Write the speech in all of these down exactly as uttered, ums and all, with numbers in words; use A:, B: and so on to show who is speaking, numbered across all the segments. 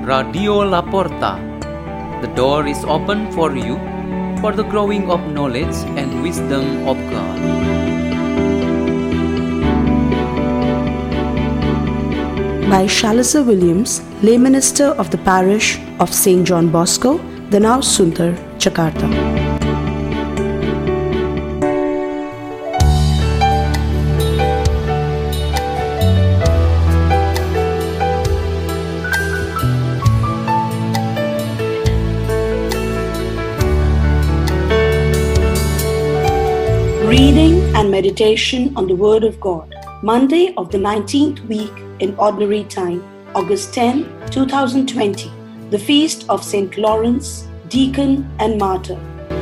A: Radio La Porta. The door is open for you for the growing of knowledge and wisdom of God.
B: By Shalisa Williams, lay minister of the parish of Saint John Bosco, Danau Sunter, Jakarta. Reading and meditation on the Word of God. Monday of the nineteenth week in Ordinary Time, August tenth, twenty twenty. The Feast of Saint Lawrence, Deacon and Martyr.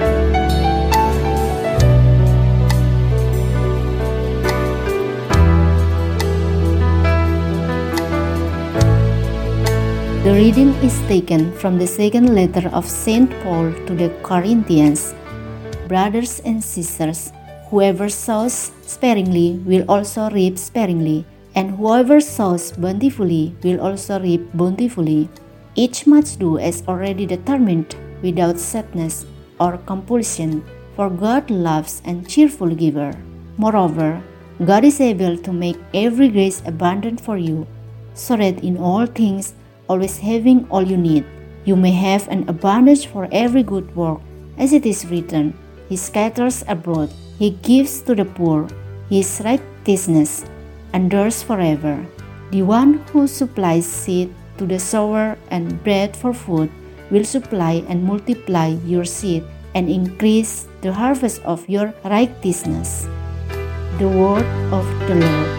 C: The reading is taken from the second letter of Saint Paul to the Corinthians. Brothers and sisters, whoever sows sparingly will also reap sparingly, and whoever sows bountifully will also reap bountifully. Each must do as already determined, without sadness or compulsion, for God loves a cheerful giver. Moreover, God is able to make every grace abundant for you, so that in all things, always having all you need, you may have an abundance for every good work. As it is written, He scatters abroad, He gives to the poor, His righteousness endures forever. The one who supplies seed to the sower and bread for food will supply and multiply your seed and increase the harvest of your righteousness. The word of the Lord.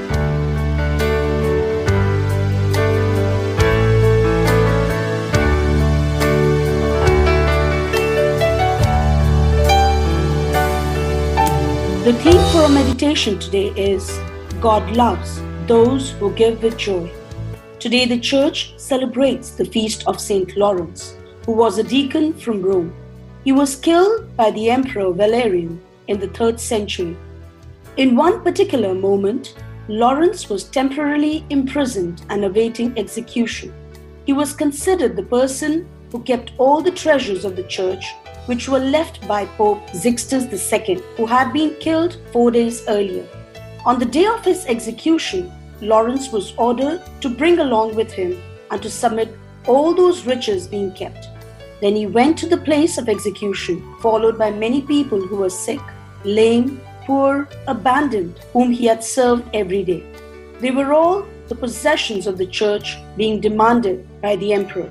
B: The theme for our meditation today is God loves those who give with joy. Today the Church celebrates the feast of Saint Lawrence, who was a deacon from Rome. He was killed by the Emperor Valerian in the third century. In one particular moment, Lawrence was temporarily imprisoned and awaiting execution. He was considered the person who kept all the treasures of the Church, which were left by Pope Sixtus the Second, who had been killed four days earlier. On the day of his execution, Lawrence was ordered to bring along with him and to submit all those riches being kept. Then he went to the place of execution, followed by many people who were sick, lame, poor, abandoned, whom he had served every day. They were all the possessions of the Church being demanded by the emperor.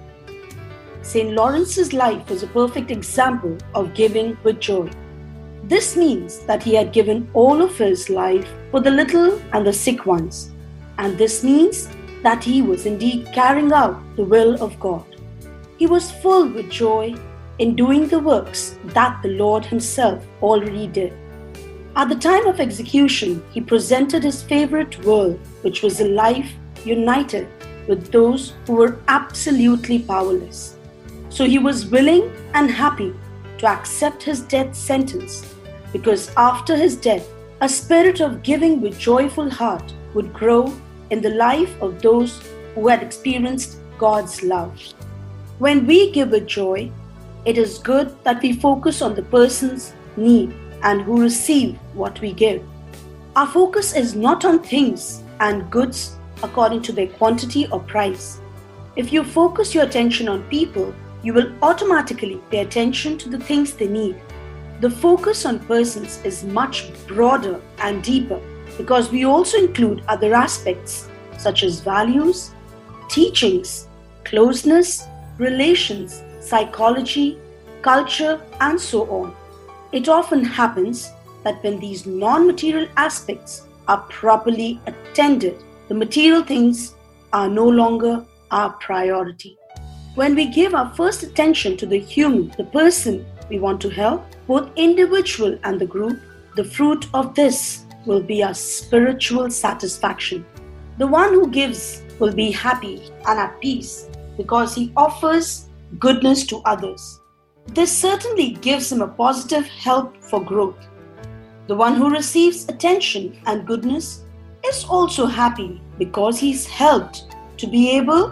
B: Saint Lawrence's life was a perfect example of giving with joy. This means that he had given all of his life for the little and the sick ones. And this means that he was indeed carrying out the will of God. He was full with joy in doing the works that the Lord himself already did. At the time of execution, he presented his favorite world, which was a life united with those who were absolutely powerless. So he was willing and happy to accept his death sentence, because after his death, a spirit of giving with joyful heart would grow in the life of those who had experienced God's love. When we give with joy, it is good that we focus on the person's need and who receive what we give. Our focus is not on things and goods according to their quantity or price. If you focus your attention on people, you will automatically pay attention to the things they need. The focus on persons is much broader and deeper because we also include other aspects such as values, teachings, closeness, relations, psychology, culture, and so on. It often happens that when these non-material aspects are properly attended, the material things are no longer our priority. When we give our first attention to the human, the person we want to help, both individual and the group, the fruit of this will be our spiritual satisfaction. The one who gives will be happy and at peace because he offers goodness to others. This certainly gives him a positive help for growth. The one who receives attention and goodness is also happy because he's helped to be able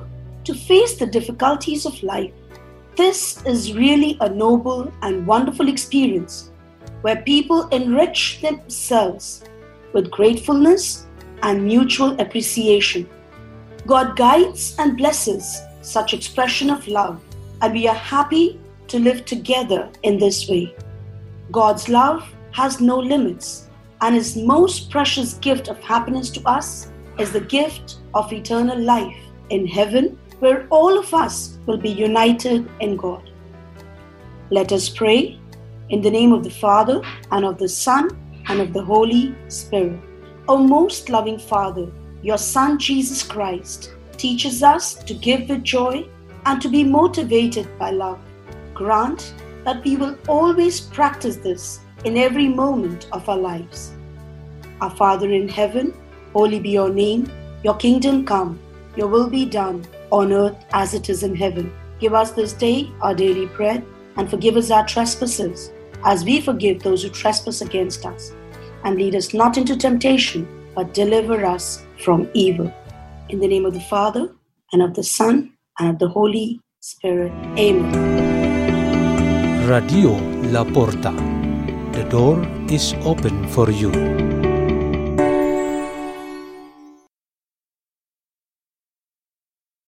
B: to face the difficulties of life. This is really a noble and wonderful experience where people enrich themselves with gratefulness and mutual appreciation. God guides and blesses such expression of love, and we are happy to live together in this way. God's love has no limits, and His most precious gift of happiness to us is the gift of eternal life in heaven, where all of us will be united in God. Let us pray in the name of the Father, and of the Son, and of the Holy Spirit. O most loving Father, your Son Jesus Christ teaches us to give with joy and to be motivated by love. Grant that we will always practice this in every moment of our lives. Our Father in heaven, holy be your name. Your kingdom come, your will be done on earth as it is in heaven. Give us this day our daily bread, and forgive us our trespasses, as we forgive those who trespass against us. And lead us not into temptation, but deliver us from evil. In the name of the Father, and of the Son, and of the Holy Spirit. Amen.
D: Radio La Porta. The door is open for you.